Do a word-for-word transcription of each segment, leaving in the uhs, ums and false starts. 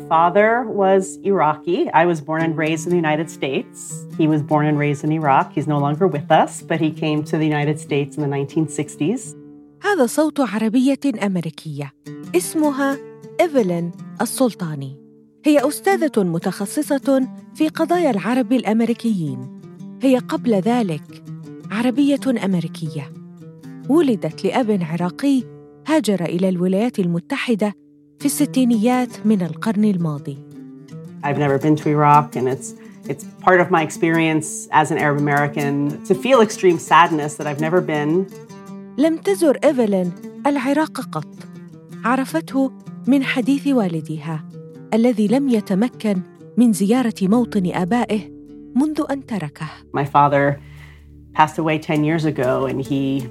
father was Iraqi. I was born and raised in the United States. He was born and raised in Iraq. He's no longer with us, but he came to the United States in the nineteen sixties. هذا صوت عربية أمريكية اسمها إيفلين السلطاني. هي أستاذة متخصصة في قضايا العرب الأمريكيين. هي قبل ذلك عربية أمريكية. ولدت لأب عراقي هاجر إلى الولايات المتحدة في الستينيات من القرن الماضي. I've never been to Iraq, and it's it's part of my experience as an Arab American to feel extreme sadness that I've never been. لم تزر إيفلين العراق قط. عرفته من حديث والدها الذي لم يتمكن من زيارة موطن آبائه منذ أن تركه. My father passed away ten years ago, and he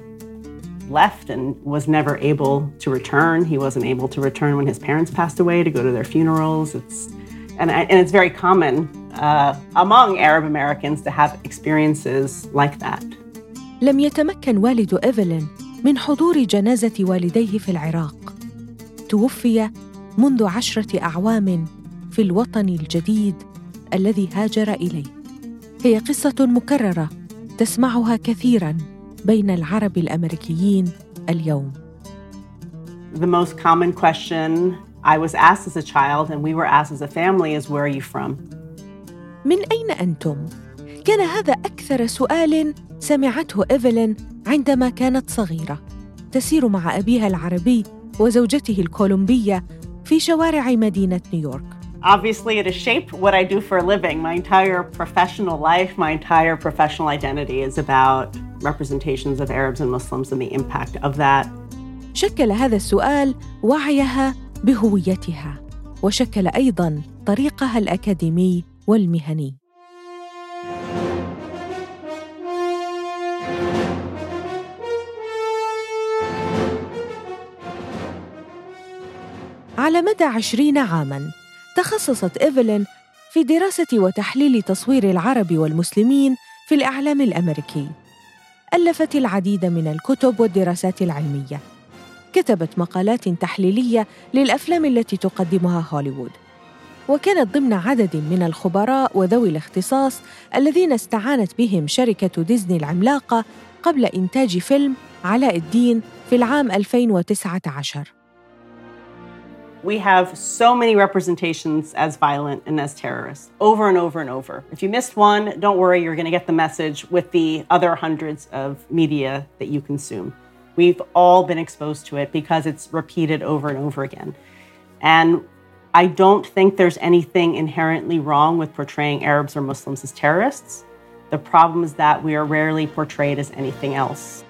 left and was never able to return. He wasn't able to return when his parents passed away to go to their funerals. It's and, and it's very common uh, among Arab Americans to have experiences like that. لم يتمكن والد إيفلين من حضور جنازة والديه في العراق. توفي منذ عشرة أعوام في الوطن الجديد الذي هاجر إليه. هي قصة مكررة تسمعها كثيراً بين العرب الأمريكيين اليوم. The most common question I was asked as a child and we were asked as a family is, where are you from? من أين أنتم؟ كان هذا أكثر سؤال سمعته إيفلين عندما كانت صغيرة، تسير مع أبيها العربي وزوجته الكولومبية في شوارع مدينة نيويورك. Obviously, it has shaped what I do for a living. My entire professional life, my entire professional identity is about representations of Arabs and Muslims and the impact of that. شكل هذا السؤال وعيها بهويتها، وشكل أيضاً طريقها الأكاديمي والمهني. على مدى عشرين عاماً تخصصت إيفلين في دراسة وتحليل تصوير العرب والمسلمين في الإعلام الأمريكي. ألفت العديد من الكتب والدراسات العلمية. كتبت مقالات تحليلية للأفلام التي تقدمها هوليوود، وكانت ضمن عدد من الخبراء وذوي الاختصاص الذين استعانت بهم شركة ديزني العملاقة قبل إنتاج فيلم علاء الدين في العام ألفين وتسعة عشر. We have so many representations as violent and as terrorists, over and over and over. If you missed one, don't worry, you're going to get the message with the other hundreds of media that you consume. We've all been exposed to it because it's repeated over and over again. And I don't think there's anything inherently wrong with portraying Arabs or Muslims as terrorists. The problem is that we are rarely portrayed as anything else.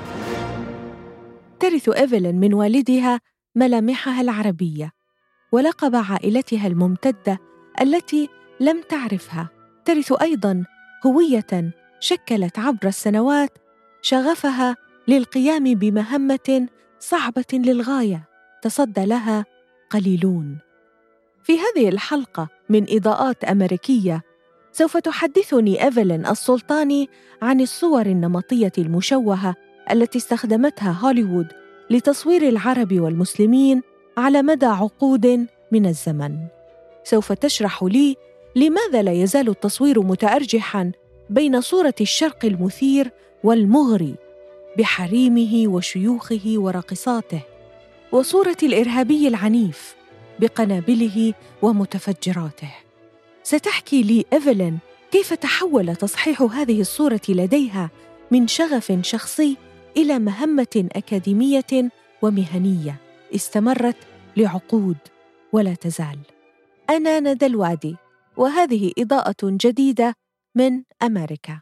ترث إيفلين من والدها ملامحها العربية ولقب عائلتها الممتدة التي لم تعرفها. ترث أيضاً هوية شكلت عبر السنوات شغفها للقيام بمهمة صعبة للغاية تصدى لها قليلون. في هذه الحلقة من إضاءات أمريكية سوف تحدثني إيفلين السلطاني عن الصور النمطية المشوهة التي استخدمتها هوليوود لتصوير العرب والمسلمين على مدى عقود من الزمن. سوف تشرح لي لماذا لا يزال التصوير متأرجحاً بين صورة الشرق المثير والمغري بحريمه وشيوخه ورقصاته، وصورة الإرهابي العنيف بقنابله ومتفجراته. ستحكي لي إيفلين كيف تحول تصحيح هذه الصورة لديها من شغف شخصي إلى مهمة أكاديمية ومهنية استمرت لعقود ولا تزال. أنا ندى الوادي، وهذه إضاءة جديدة من أمريكا.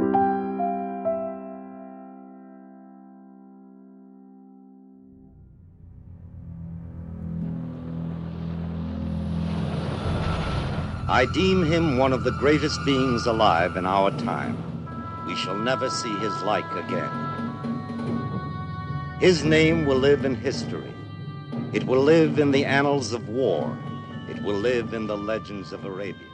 I deem him one of the greatest beings alive in our time. We shall never see his like again. His name will live in history. It will live in the annals of war. It will live in the legends of Arabia.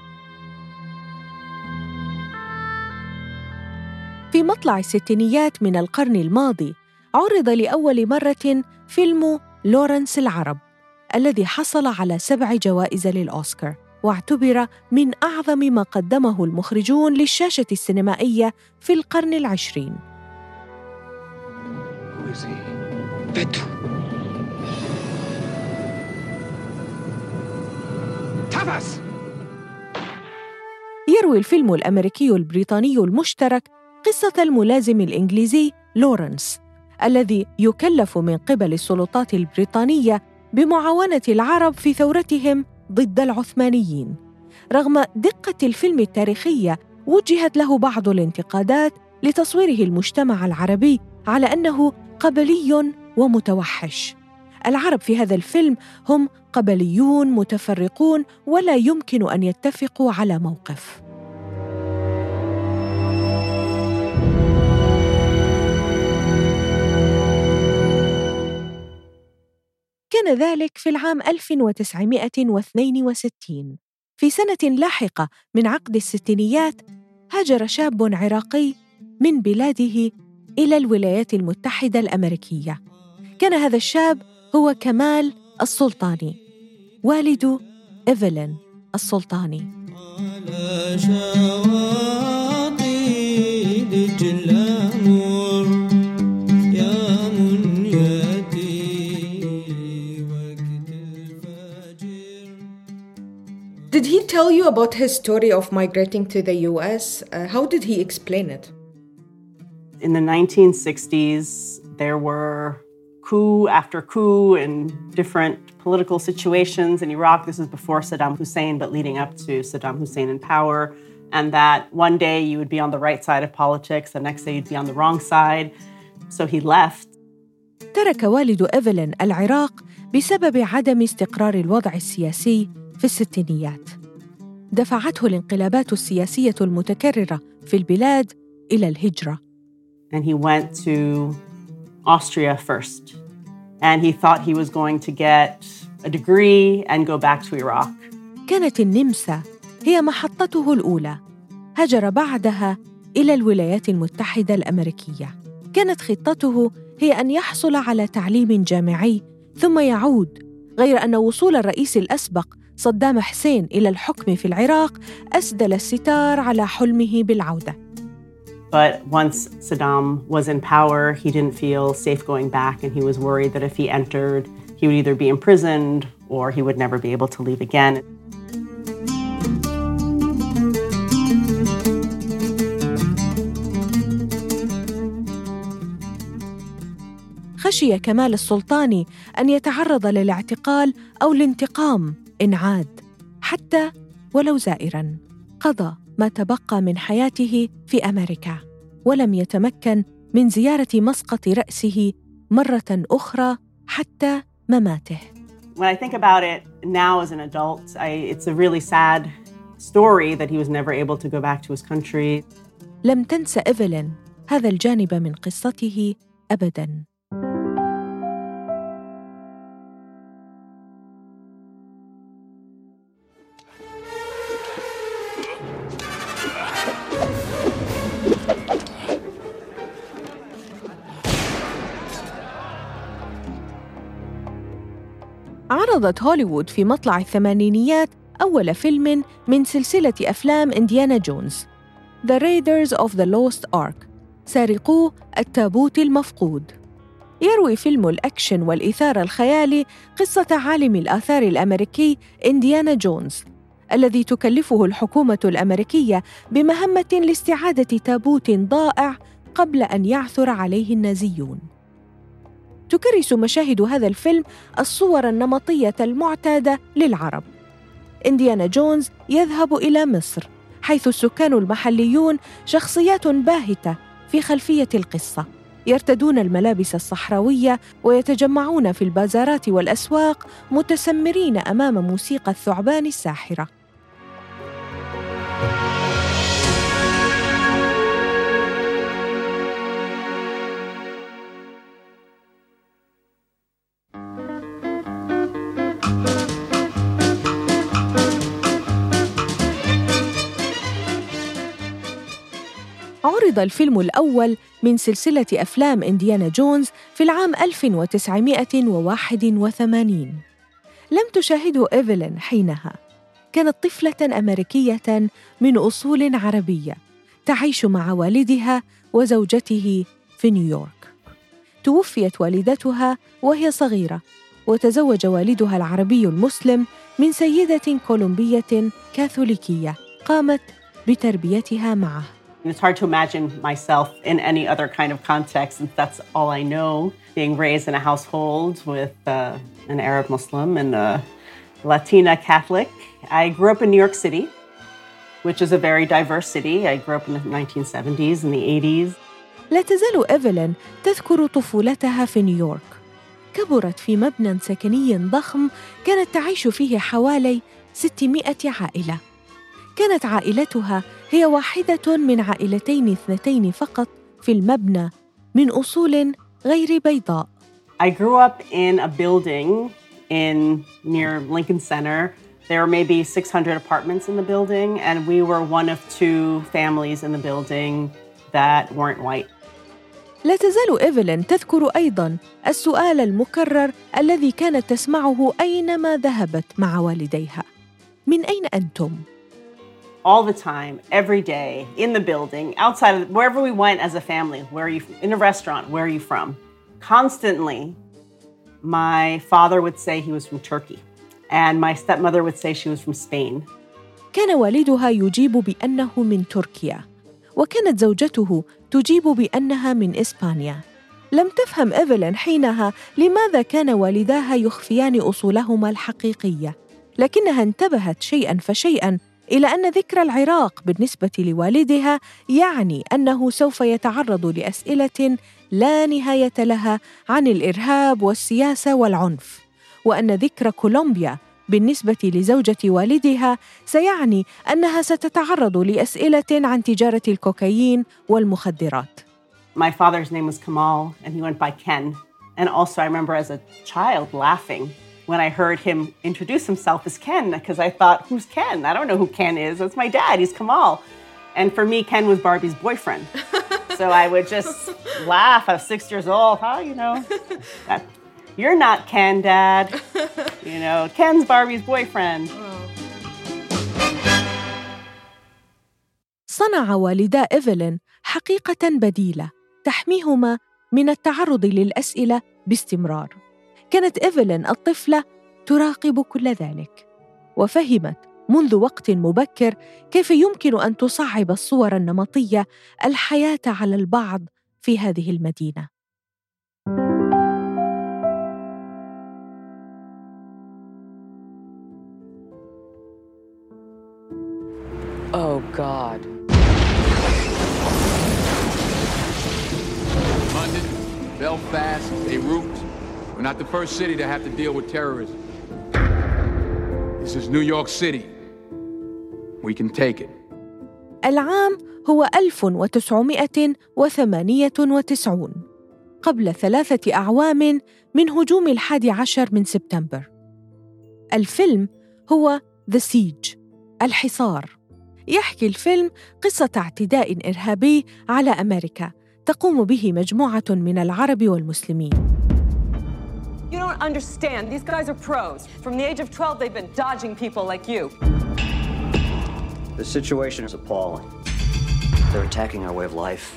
في مطلع الستينيات من القرن الماضي عرض لأول مرة فيلم لورنس العرب، الذي حصل على سبع جوائز للأوسكار، واعتبر من أعظم ما قدمه المخرجون للشاشة السينمائية في القرن العشرين. يروي الفيلم الأمريكي البريطاني المشترك قصة الملازم الإنجليزي لورنس، الذي يكلف من قبل السلطات البريطانية بمعاونة العرب في ثورتهم ضد العثمانيين. رغم دقة الفيلم التاريخية، وجهت له بعض الانتقادات لتصويره المجتمع العربي على أنه قبلي ومتوحش. العرب في هذا الفيلم هم قبليون متفرقون ولا يمكن أن يتفقوا على موقف. كان ذلك في العام ألف وتسعمائة واثنين وستين. في سنة لاحقة من عقد الستينيات، هاجر شاب عراقي من بلاده إلى الولايات المتحدة الأمريكية. كان هذا الشاب هو كمال السلطاني، والد إيفلين السلطاني. Did he tell you about his story of migrating to the U S? Uh, how did he explain it? In the nineteen sixties, there were coup after coup in different political situations in Iraq. This is before Saddam Hussein, but leading up to Saddam Hussein in power. And that one day you would be on the right side of politics, the next day you'd be on the wrong side. So he left. ترك والد إيفلين العراق بسبب عدم استقرار الوضع السياسي في الستينيات. دفعته الانقلابات السياسية المتكررة في البلاد إلى الهجرة. And he went to Austria first. And he thought he was going to get a degree and go back to Iraq. كانت النمسا هي محطته الأولى. هاجر بعدها إلى الولايات المتحدة الأمريكية. كانت خطته هي أن يحصل على تعليم جامعي ثم يعود، غير أن وصول الرئيس الأسبق صدام حسين إلى الحكم في العراق أسدل الستار على حلمه بالعودة. But once Saddam was in power, he didn't feel safe going back, and he was worried that if he entered, he would either be imprisoned or he would never be able to leave again. خشي كمال السلطاني أن يتعرض للاعتقال أو الانتقام إن عاد، حتى ولو زائراً. قضى ما تبقى من حياته في أمريكا، ولم يتمكن من زيارة مسقط رأسه مرة أخرى حتى مماته. When I think about it now as an adult, I, it's a really sad story that he was never able to go back to his country. لم تنسى إيفلين هذا الجانب من قصته أبداً. عرضت هوليوود في مطلع الثمانينيات أول فيلم من سلسلة أفلام إنديانا جونز، The Raiders of the Lost Ark، سارقو التابوت المفقود. يروي فيلم الأكشن والإثارة الخيالي قصة عالم الآثار الأمريكي إنديانا جونز، الذي تكلفه الحكومة الأمريكية بمهمة لاستعادة تابوت ضائع قبل أن يعثر عليه النازيون. تكرس مشاهد هذا الفيلم الصور النمطية المعتادة للعرب. إنديانا جونز يذهب إلى مصر، حيث السكان المحليون شخصيات باهتة في خلفية القصة، يرتدون الملابس الصحراوية ويتجمعون في البازارات والأسواق متسمرين أمام موسيقى الثعبان الساحرة. عرض الفيلم الأول من سلسلة أفلام إنديانا جونز في العام ألف وتسعمائة وواحد وثمانين. لم تشاهده إيفلين حينها. كانت طفلة أمريكية من أصول عربية تعيش مع والدها وزوجته في نيويورك. توفيت والدتها وهي صغيرة، وتزوج والدها العربي المسلم من سيدة كولومبية كاثوليكية قامت بتربيتها معه. It's hard to imagine myself in any other kind of context, since that's all I know, being raised in a household with uh, an Arab Muslim and a Latina Catholic. I grew up in New York City, which is a very diverse city. I grew up in the nineteen seventies and the eighties. لا تزال إيفلين تذكر طفولتها في نيويورك. كبرت في مبنى سكني ضخم كانت تعيش فيه حوالي ستمائة عائلة. كانت عائلتها هي واحدة من عائلتين اثنتين فقط في المبنى من أصول غير بيضاء. I grew up in a building in near Lincoln Center. There were maybe six hundred apartments in the building, and we were one of two families in the building that weren't white. لا تزال إيفلين تذكر أيضاً السؤال المكرر الذي كانت تسمعه أينما ذهبت مع والديها: من أين أنتم؟ All the time, every day, in the building, outside of wherever we went as a family. Where are you? In a restaurant, where are you from? Constantly, my father would say he was from Turkey, and my stepmother would say she was from Spain. كان والدها يجيب بأنه من تركيا، وكانت زوجته تجيب بأنها من إسبانيا. لم تفهم إيفلين حينها لماذا كان والداها يخفيان أصولهما الحقيقية، لكنها انتبهت شيئاً فشيئاً إلى أن ذكر العراق بالنسبة لوالدها يعني أنه سوف يتعرض لأسئلة لا نهاية لها عن الإرهاب والسياسة والعنف، وأن ذكر كولومبيا بالنسبة لزوجة والدها سيعني أنها ستتعرض لأسئلة عن تجارة الكوكايين والمخدرات. My father's name was Kamal, and he went by Ken. And also I remember as a child laughing when I heard him introduce himself as Ken, because I thought, who's Ken? I don't know who Ken is. That's my dad. He's Kamal. And for me, Ken was Barbie's boyfriend. So I would just laugh. I was six years old. Huh, you know, that, you're not Ken, Dad. You know, Ken's Barbie's boyfriend. صنع والدا إيفلين حقيقة بديلة تحميهما من التعرض للأسئلة باستمرار. كانت إيفلين الطفلة تراقب كل ذلك، وفهمت منذ وقت مبكر كيف يمكن أن تصعب الصور النمطية الحياة على البعض في هذه المدينة. Oh God. London, Belfast, Beirut. We're not the first city to have to deal with terrorism. This is New York City. We can take it. العام هو ألف وتسعمائة وثمانية وتسعين، قبل ثلاثة أعوام من هجوم الحادي عشر من سبتمبر. الفيلم هو The Siege، الحصار. يحكي الفيلم قصة اعتداء إرهابي على أمريكا تقوم به مجموعة من العرب والمسلمين. You don't understand. These guys are pros. From the age of twelve, they've been dodging people like you. The situation is appalling. They're attacking our way of life.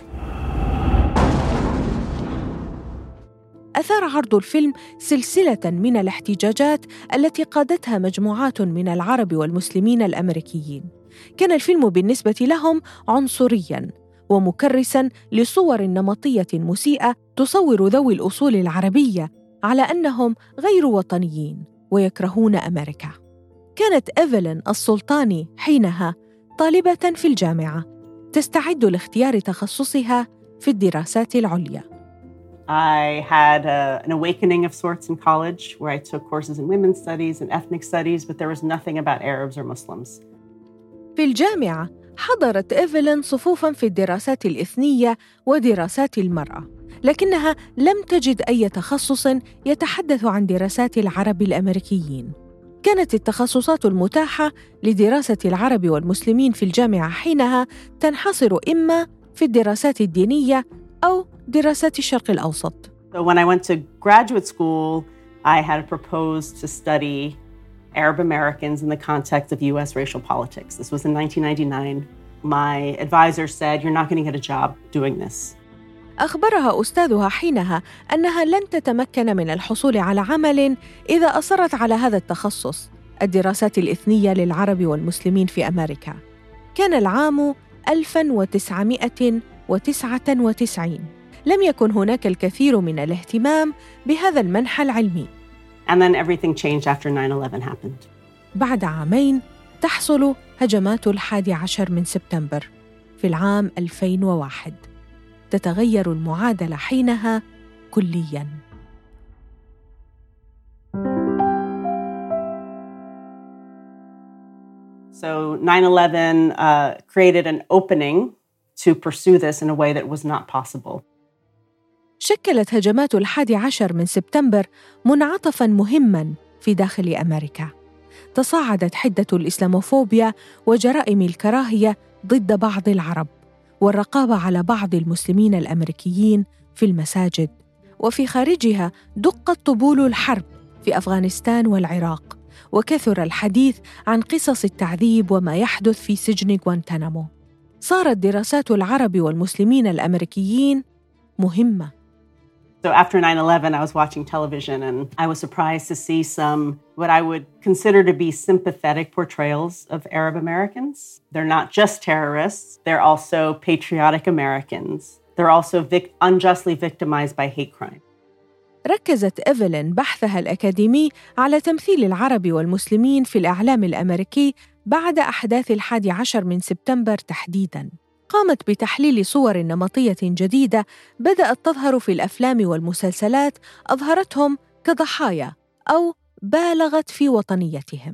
أثار عرض الفيلم سلسلة من الاحتجاجات التي قادتها مجموعات من العرب والمسلمين الأمريكيين. كان الفيلم بالنسبة لهم عنصرياً ومكرساً لصور نمطية مسيئة تصور ذوي الأصول العربية على أنهم غير وطنيين ويكرهون أمريكا. كانت إيفلين السلطاني حينها طالبة في الجامعة تستعد لاختيار تخصصها في الدراسات العليا. I had a, an awakening of sorts in college where I took courses in women's studies and ethnic studies, but there was nothing about Arabs or Muslims. في الجامعة حضرت إيفلين صفوفاً في الدراسات الإثنية ودراسات المرأة، لكنها لم تجد أي تخصص يتحدث عن دراسات العرب الأمريكيين. كانت التخصصات المتاحة لدراسة العرب والمسلمين في الجامعة حينها تنحصر إما في الدراسات الدينية أو دراسات الشرق الأوسط. So when I went to graduate school, I had proposed to study Arab Americans in the context of U S racial politics. This was in nineteen ninety-nine. My advisor said, "You're not going to get a job doing this." أخبرها أستاذها حينها أنها لن تتمكن من الحصول على عمل إذا أصرت على هذا التخصص، الدراسات الإثنية للعرب والمسلمين في أمريكا. كان العام ألف وتسعمائة وتسعة وتسعين. لم يكن هناك الكثير من الاهتمام بهذا المنحى العلمي. And then everything changed after nine eleven happened. بعد عامين تحصل هجمات الحادي عشر من سبتمبر في العام ألفين وواحد. تتغير المعادلة حينها كلياً. So nine eleven uh, created an opening to pursue this in a way that was not possible. شكلت هجمات الحادي عشر من سبتمبر منعطفاً مهماً في داخل أمريكا. تصاعدت حدة الإسلاموفوبيا وجرائم الكراهية ضد بعض العرب، والرقابة على بعض المسلمين الأمريكيين في المساجد، وفي خارجها دقت طبول الحرب في أفغانستان والعراق، وكثر الحديث عن قصص التعذيب وما يحدث في سجن غوانتانامو. صارت دراسات العرب والمسلمين الأمريكيين مهمة. So after nine eleven, I was watching television and I was surprised to see some what I would consider to be sympathetic portrayals of Arab Americans. They're not just terrorists, they're also patriotic Americans. They're also vic- unjustly victimized by hate crime. ركزت إيفلين بحثها الأكاديمي على تمثيل العرب والمسلمين في الإعلام الأمريكي بعد أحداث الحادي عشر من سبتمبر تحديداً. قامت بتحليل صور نمطية جديدة بدأت تظهر في الأفلام والمسلسلات أظهرتهم كضحايا أو بالغت في وطنيتهم.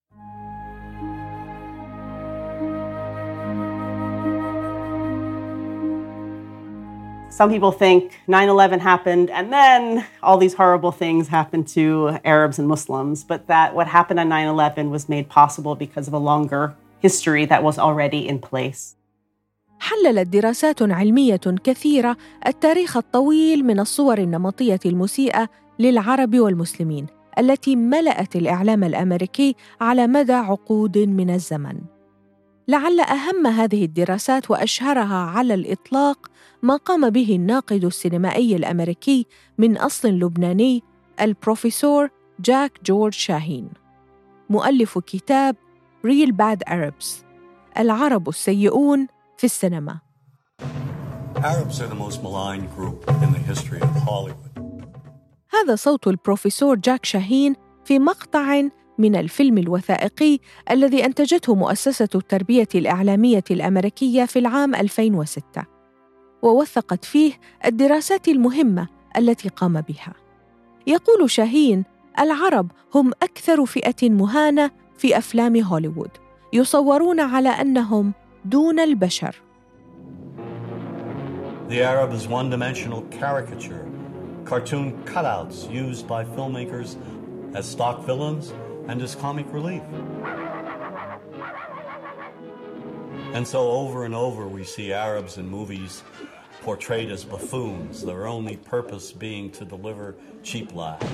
Some people think nine eleven happened and then all these horrible things happened to Arabs and Muslims, but that what happened on nine eleven was made possible because of a longer history that was already in place. حللت دراسات علمية كثيرة التاريخ الطويل من الصور النمطية المسيئة للعرب والمسلمين التي ملأت الإعلام الأمريكي على مدى عقود من الزمن. لعل أهم هذه الدراسات وأشهرها على الإطلاق ما قام به الناقد السينمائي الأمريكي من أصل لبناني البروفيسور جاك جورج شاهين، مؤلف كتاب Real Bad Arabs، العرب السيئون في السينما. Arabs are the most maligned group in the history of Hollywood. هذا صوت البروفيسور جاك شاهين في مقطع من الفيلم الوثائقي الذي أنتجته مؤسسة التربية الإعلامية الأمريكية في العام ألفين وستة، ووثقت فيه الدراسات المهمة التي قام بها. يقول شاهين: العرب هم أكثر فئة مهانة في أفلام هوليوود، يصورون على أنهم دون البشر. The Arab is one-dimensional caricature, cartoon cutouts used by filmmakers as stock villains and as comic relief. And so over and over we see Arabs in movies portrayed as buffoons, their only purpose being to deliver cheap laughs.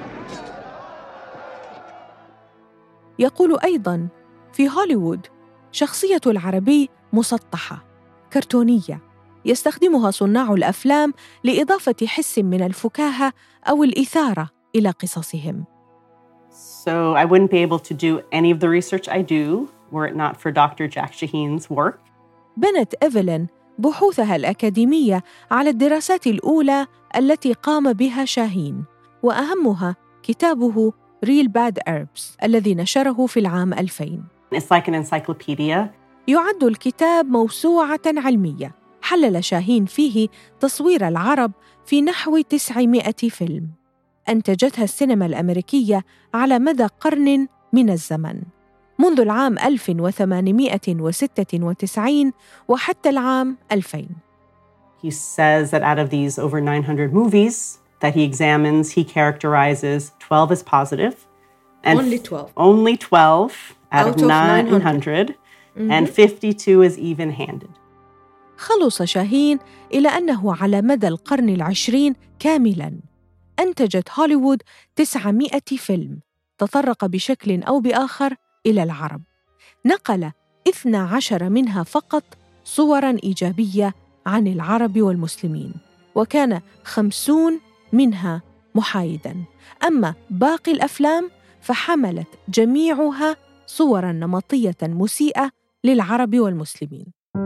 يقول أيضاً: في هوليوود شخصية العربي مسطحة، كرتونية، يستخدمها صناع الأفلام لإضافة حس من الفكاهة أو الإثارة إلى قصصهم. So I wouldn't be able to do any of the research I do were it not for Doctor Jack Shaheen's work. بنت إيفلين بحوثها الأكاديمية على الدراسات الأولى التي قام بها شاهين، وأهمها كتابه Real Bad Arabs الذي نشره في العام ألفين. It's like an encyclopedia. يعد الكتاب موسوعة علمية حلل شاهين فيه تصوير العرب في نحو تسعمائة فيلم أنتجتها السينما الأمريكية على مدى قرن من الزمن، منذ العام ألف وثمانمائة وستة وتسعين وحتى العام ألفين. He says that out of these over nine hundred movies that he examines, he characterizes twelve as positive. And only twelve. Only twelve out, out of nine hundred, mm-hmm. and fifty-two is even-handed. خلص شاهين إلى أنه على مدى القرن العشرين كاملاً أنتجت هوليوود تسعمائة فيلم تطرق بشكل أو بآخر إلى العرب. نقل اثنا عشر منها فقط صوراً إيجابية عن العرب والمسلمين، وكان خمسون منها محايداً. أما باقي الأفلام فحملت جميعها صوراً نمطية مسيئة للعرب والمسلمين.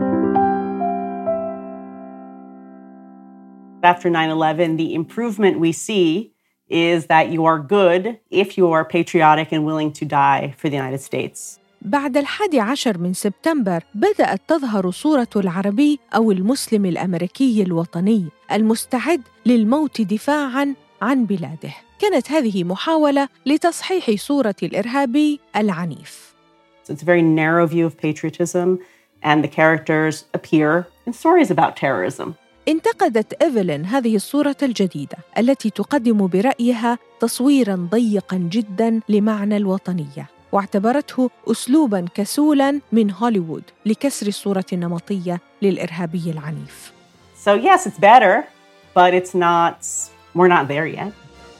After nine eleven, the improvement we see is that you are good if you are patriotic and willing to die for the United States. بعد الحادي عشر من سبتمبر بدأت تظهر صورة العربي أو المسلم الأمريكي الوطني المستعد للموت دفاعاً عن بلاده. كانت هذه محاولة لتصحيح صورة الإرهابي العنيف. So it's a very narrow view of patriotism, and the characters appear in stories about terrorism. انتقدت إيفلين هذه الصورة الجديدة التي تقدم برأيها تصويراً ضيقاً جداً لمعنى الوطنية، واعتبرته أسلوباً كسولاً من هوليوود لكسر الصورة النمطية للإرهابي العنيف. So yes, it's better, but it's not, we're not there yet.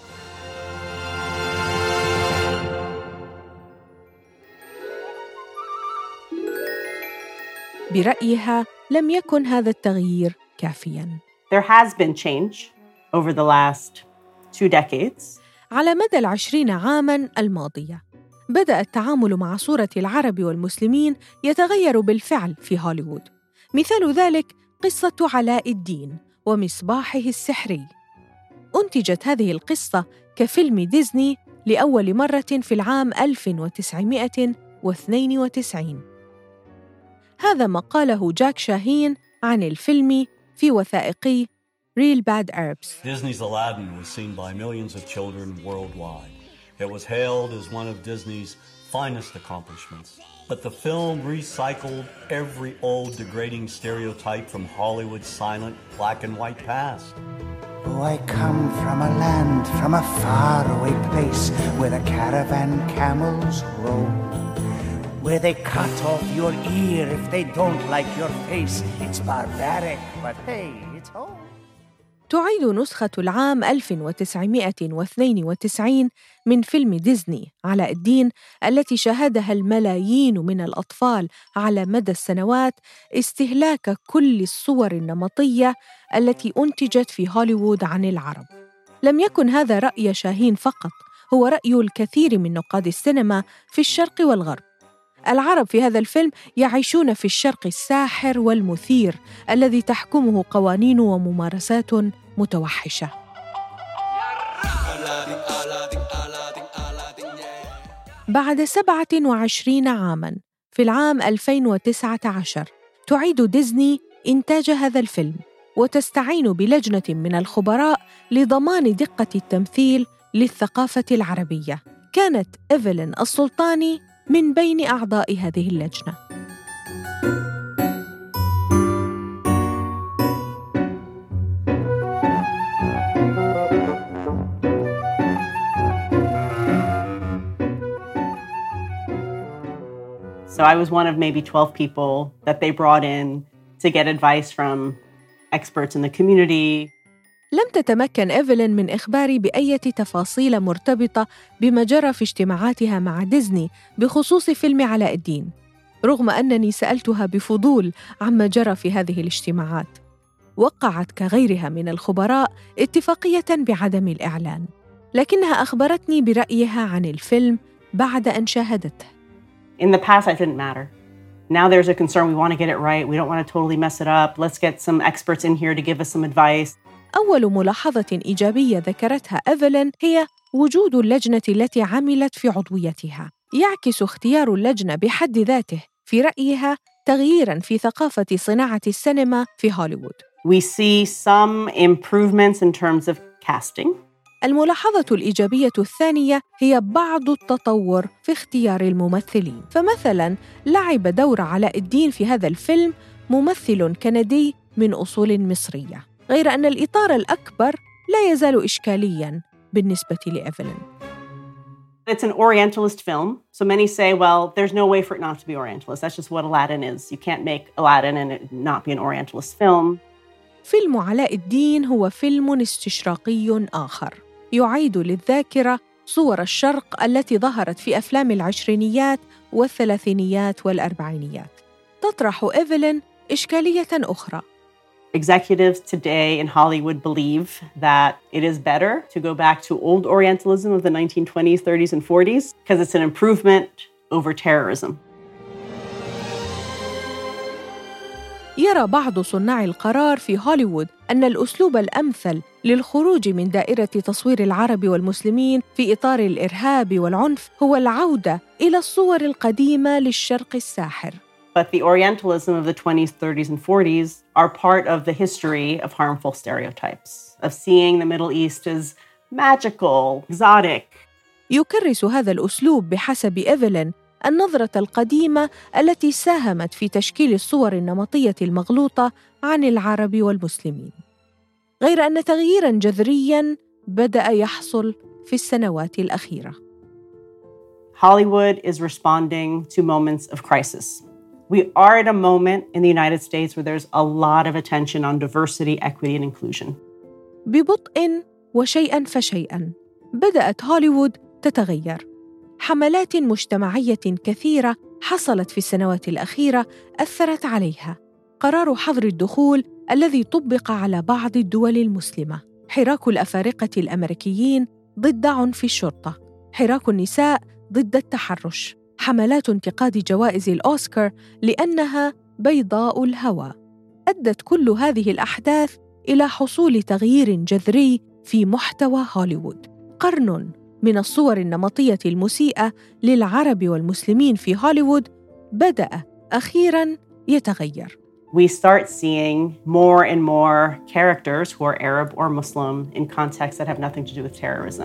برأيها لم يكن هذا التغيير كافياً. There has been change over the last two decades. على مدى العشرين عاماً الماضية بدأ التعامل مع صورة العرب والمسلمين يتغير بالفعل في هوليوود. مثال ذلك قصة علاء الدين ومصباحه السحري. أنتجت هذه القصة كفيلم ديزني لأول مرة في العام ألف وتسعمائة واثنين وتسعين. هذا ما قاله جاك شاهين عن الفيلم في وثائقي Real Bad Arabs. Disney's Aladdin was seen by millions of children worldwide. It was hailed as one of Disney's finest accomplishments. But the film recycled every old degrading stereotype from Hollywood's silent black and white past. Oh, I come from a land, from a faraway place where the caravan camels roam, where they cut off your ear if they don't like your face. It's barbaric, but hey, it's home. تعيد نسخة العام ألف وتسعمائة واثنين وتسعين من فيلم ديزني علاء الدين التي شاهدها الملايين من الأطفال على مدى السنوات استهلاك كل الصور النمطية التي أنتجت في هوليوود عن العرب. لم يكن هذا رأي شاهين فقط، هو رأي الكثير من نقاد السينما في الشرق والغرب. العرب في هذا الفيلم يعيشون في الشرق الساحر والمثير الذي تحكمه قوانين وممارسات متوحشة. بعد سبعة وعشرين عاماً في العام ألفين وتسعة عشر تعيد ديزني إنتاج هذا الفيلم وتستعين بلجنة من الخبراء لضمان دقة التمثيل للثقافة العربية. كانت إيفلين السلطاني من بين أعضاء هذه اللجنة. So I was one of maybe twelve people that they brought in to get advice from experts in the community. لم تتمكن إيفلين من إخباري بأي تفاصيل مرتبطة بما جرى في اجتماعاتها مع ديزني بخصوص فيلم علاء الدين، رغم أنني سألتها بفضول عما جرى في هذه الاجتماعات. وقعت كغيرها من الخبراء اتفاقية بعدم الإعلان، لكنها أخبرتني برأيها عن الفيلم بعد أن شاهدته. In the past, that didn't matter. Now there's a concern. We want to get it right. We don't want to totally mess it up. Let's get some experts in here to give us some advice. أول ملاحظة إيجابية ذكرتها إيفلين هي وجود اللجنة التي عملت في عضويتها. يعكس اختيار اللجنة بحد ذاته في رأيها تغييراً في ثقافة صناعة السينما في هوليوود. We see some improvements in terms of casting. الملاحظة الإيجابية الثانية هي بعض التطور في اختيار الممثلين. فمثلاً لعب دور علاء الدين في هذا الفيلم ممثل كندي من أصول مصرية، غير أن الإطار الأكبر لا يزال إشكالياً بالنسبة لإيفلين. It's an Orientalist film, so many say, well, there's no way for it not to be Orientalist. That's just what Aladdin is. You can't make Aladdin and it not be an Orientalist film. فيلم علاء الدين هو فيلم استشراقي آخر، يعيد للذاكرة صور الشرق التي ظهرت في أفلام العشرينيات والثلاثينيات والأربعينيات. تطرح إيفلين إشكالية أخرى. Executives today in Hollywood believe that it is better to go back to old Orientalism of the nineteen twenties, thirties, and forties because it's an improvement over terrorism. يرى بعض صناع القرار في هوليوود أن الأسلوب الأمثل للخروج من دائرة تصوير العرب والمسلمين في إطار الإرهاب والعنف هو العودة إلى الصور القديمة للشرق الساحر. But the Orientalism of the twenties, thirties, and forties are part of the history of harmful stereotypes, of seeing the Middle East as magical, exotic. يكرس هذا الأسلوب بحسب إيفلين النظرة القديمة التي ساهمت في تشكيل الصور النمطية المغلوطة عن العرب والمسلمين. غير أن تغييراً جذرياً بدأ يحصل في السنوات الأخيرة. Hollywood is responding to moments of crisis. We are at a moment in the United States where there's a lot of attention on diversity, equity, and inclusion. ببطء وشيئاً فشيئاً بدأت هوليوود تتغير. حملات مجتمعية كثيرة حصلت في السنوات الأخيرة أثرت عليها. قرار حظر الدخول الذي طبق على بعض الدول المسلمة، حراك الأفارقة الأمريكيين ضد عنف الشرطة، حراك النساء ضد التحرش، حملات انتقاد جوائز الأوسكار لأنها بيضاء الهوى. أدت كل هذه الأحداث إلى حصول تغيير جذري في محتوى هوليوود. قرن من الصور النمطية المسيئة للعرب والمسلمين في هوليوود بدأ أخيراً يتغير. We start seeing more and more characters who are Arab or Muslim in contexts that have nothing to do with terrorism.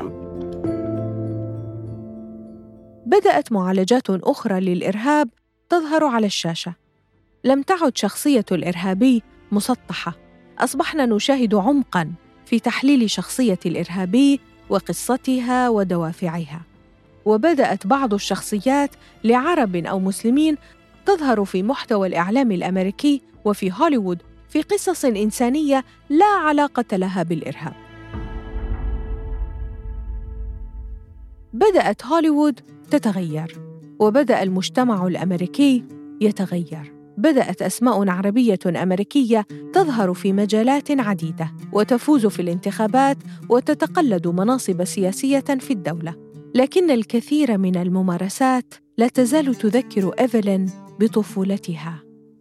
بدأت معالجات أخرى للإرهاب تظهر على الشاشة. لم تعد شخصية الإرهابي مسطحة، أصبحنا نشاهد عمقاً في تحليل شخصية الإرهابي وقصتها ودوافعها. وبدأت بعض الشخصيات لعرب أو مسلمين تظهر في محتوى الإعلام الأمريكي وفي هوليوود في قصص إنسانية لا علاقة لها بالإرهاب. بدأت هوليوود تتغير، وبدأ المجتمع الأمريكي يتغير. بدأت أسماء عربية أمريكية تظهر في مجالات عديدة وتفوز في الانتخابات وتتقلد مناصب سياسية في الدولة. لكن الكثير من الممارسات لا تزال تذكر إيفلين بطفولتها،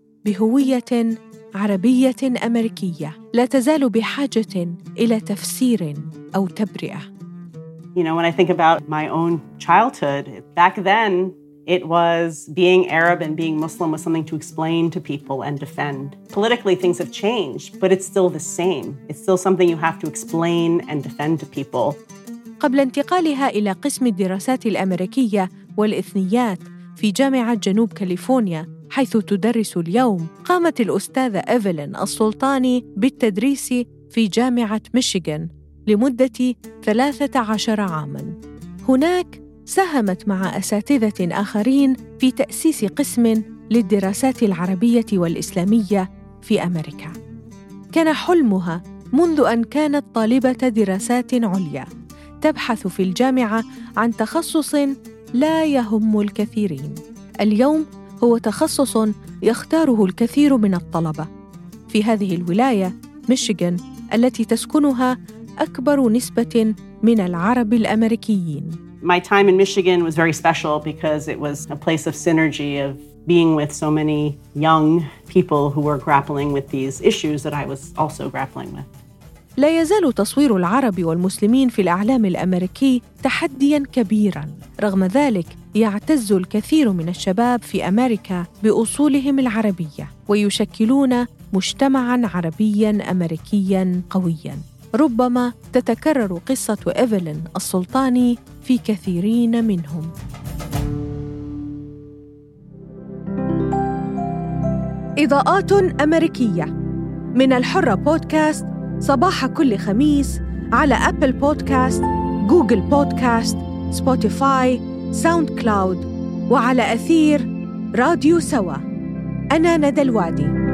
بهوية عربية أمريكية لا تزال بحاجة إلى تفسير أو تبرئة. You know, when I think about my own childhood, back then it was being Arab and being Muslim was something to explain to people and defend. Politically, things have changed, but it's still the same. It's still something you have to explain and defend to people. قبل انتقالها إلى قسم الدراسات الأمريكية والإثنيات في جامعة جنوب كاليفورنيا حيث تدرس اليوم، قامت الأستاذة إيفلين السلطاني بالتدريس في جامعة ميشيغان لمدة ثلاثة عشر عاماً. هناك ساهمت مع أساتذة آخرين في تأسيس قسم للدراسات العربية والإسلامية في أمريكا. كان حلمها منذ أن كانت طالبة دراسات عليا تبحث في الجامعة عن تخصص لا يهم الكثيرين. اليوم هو تخصص يختاره الكثير من الطلبة. في هذه الولاية ميشيغان التي تسكنها أكبر نسبة من العرب الأمريكيين. My time in Michigan was very special because it was a place of synergy of being with so many young people who were grappling with these issues that I was also grappling with. لا يزال تصوير العرب والمسلمين في الإعلام الأمريكي تحدياً كبيراً. رغم ذلك يعتز الكثير من الشباب في أمريكا بأصولهم العربية ويشكلون مجتمعاً عربياً أمريكياً قوياً. ربما تتكرر قصة إيفلين السلطاني في كثيرين منهم. إضاءات أمريكية من الحرة بودكاست، صباح كل خميس على أبل بودكاست، جوجل بودكاست، سبوتيفاي، ساوند كلاود، وعلى أثير راديو سوا. أنا ندى الوادي.